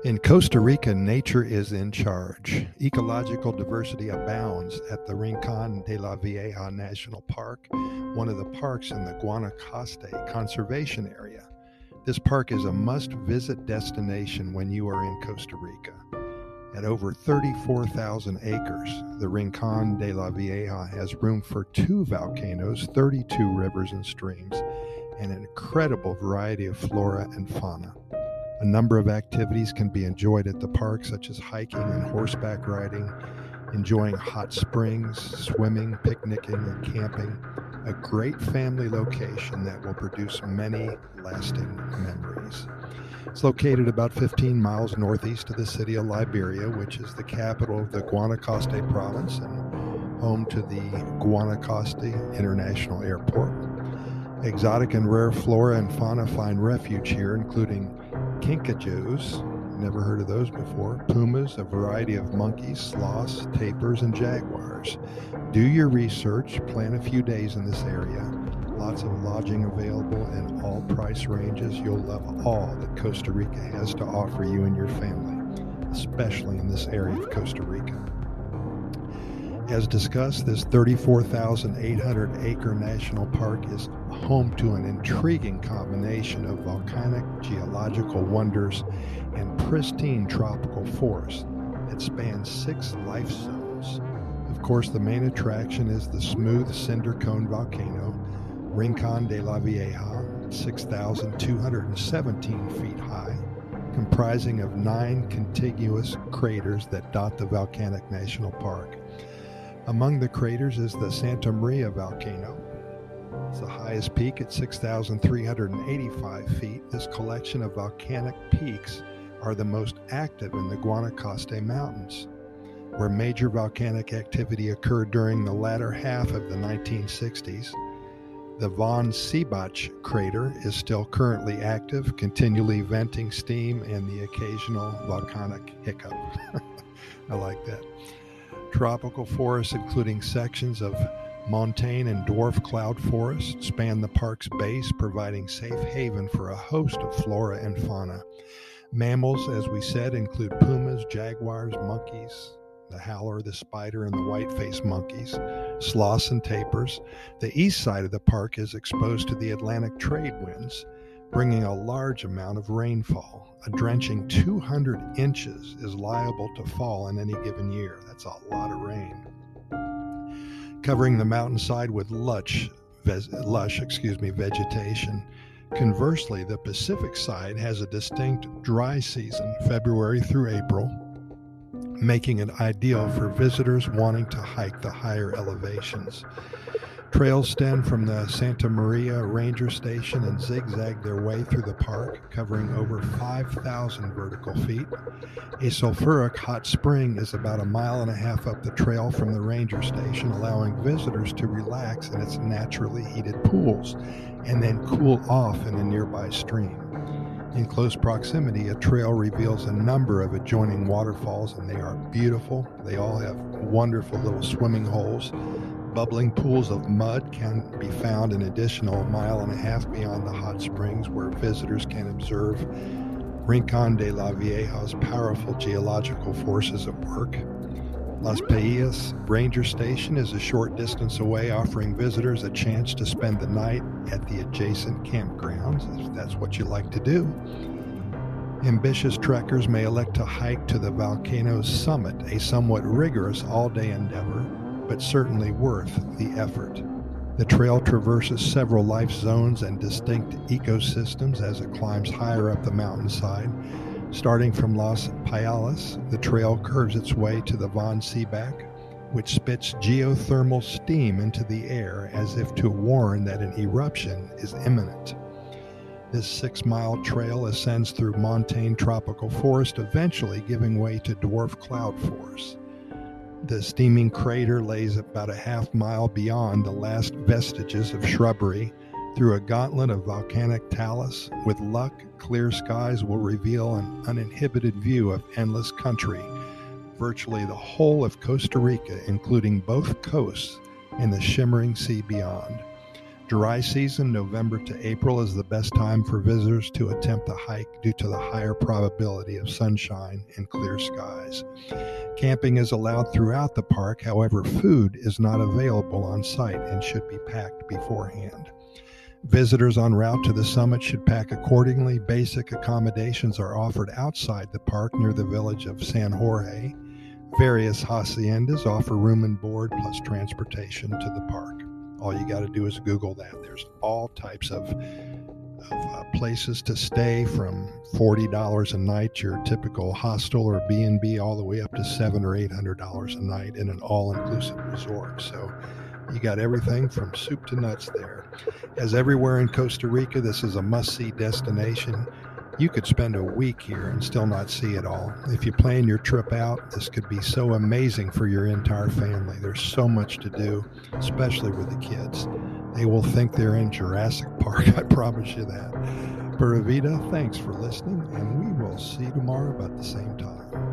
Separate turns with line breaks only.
In Costa Rica, nature is in charge. Ecological diversity abounds at the Rincon de la Vieja National Park, one of the parks in the Guanacaste Conservation Area. This park is a must-visit destination when you are in Costa Rica. At over 34,000 acres, the Rincon de la Vieja has room for 2 volcanoes, 32 rivers and streams, and an incredible variety of flora and fauna. A number of activities can be enjoyed at the park, such as hiking and horseback riding, enjoying hot springs, swimming, picnicking, and camping. A great family location that will produce many lasting memories. It's located about 15 miles northeast of the city of Liberia, which is the capital of the Guanacaste province and home to the Guanacaste International Airport. Exotic and rare flora and fauna find refuge here, including kinkajous, never heard of those before, pumas, a variety of monkeys, sloths, tapirs, and jaguars. Do your research, plan a few days in this area. Lots of lodging available in all price ranges. You'll love all that Costa Rica has to offer you and your family, especially in this area of Costa Rica. As discussed, this 34,800-acre national park is home to an intriguing combination of volcanic geological wonders and pristine tropical forests that span 6 life zones. Of course, the main attraction is the smooth cinder cone volcano, Rincon de la Vieja, 6,217 feet high, comprising of 9 contiguous craters that dot the volcanic national park. Among the craters is the Santa Maria volcano. It's the highest peak at 6,385 feet. This collection of volcanic peaks are the most active in the Guanacaste Mountains, where major volcanic activity occurred during the latter half of the 1960s. The Von Sebach crater is still currently active, continually venting steam and the occasional volcanic hiccup. I like that. Tropical forests, including sections of montane and dwarf cloud forest, span the park's base, providing safe haven for a host of flora and fauna. Mammals, as we said, include pumas, jaguars, monkeys, the howler, the spider, and the white-faced monkeys, sloths and tapirs. The east side of the park is exposed to the Atlantic trade winds, bringing a large amount of rainfall. A drenching 200 inches is liable to fall in any given year. That's a lot of rain. Covering the mountainside with lush vegetation. Conversely, the Pacific side has a distinct dry season, February through April, making it ideal for visitors wanting to hike the higher elevations. Trails stem from the Santa Maria Ranger Station and zigzag their way through the park, covering over 5,000 vertical feet. A sulfuric hot spring is about 1.5 miles up the trail from the Ranger Station, allowing visitors to relax in its naturally heated pools and then cool off in a nearby stream. In close proximity, a trail reveals a number of adjoining waterfalls, and they are beautiful. They all have wonderful little swimming holes. Bubbling pools of mud can be found an additional 1.5 miles beyond the hot springs, where visitors can observe Rincon de la Vieja's powerful geological forces at work. Las Paillas Ranger Station is a short distance away, offering visitors a chance to spend the night at the adjacent campgrounds, if that's what you like to do. Ambitious trekkers may elect to hike to the volcano's summit, a somewhat rigorous all-day endeavor, but certainly worth the effort. The trail traverses several life zones and distinct ecosystems as it climbs higher up the mountainside. Starting from Las Paillas, the trail curves its way to the Von Sebach, which spits geothermal steam into the air as if to warn that an eruption is imminent. This 6-mile trail ascends through montane tropical forest, eventually giving way to dwarf cloud forest. The steaming crater lays about 0.5 mile beyond the last vestiges of shrubbery through a gauntlet of volcanic talus. With luck, clear skies will reveal an uninhibited view of endless country, virtually the whole of Costa Rica, including both coasts and the shimmering sea beyond. Dry season, November to April, is the best time for visitors to attempt the hike due to the higher probability of sunshine and clear skies. Camping is allowed throughout the park, however, food is not available on site and should be packed beforehand. Visitors en route to the summit should pack accordingly. Basic accommodations are offered outside the park near the village of San Jorge. Various haciendas offer room and board plus transportation to the park. All you got to do is Google that. There's all types of places to stay, from $40 a night, your typical hostel or B&B, all the way up to $700 or $800 a night in an all-inclusive resort. So you got everything from soup to nuts there. As everywhere in Costa Rica, this is a must-see destination. You could spend a week here and still not see it all. If you plan your trip out, this could be so amazing for your entire family. There's so much to do, especially with the kids. They will think they're in Jurassic Park, I promise you that. Pura Vida, thanks for listening, and we will see you tomorrow about the same time.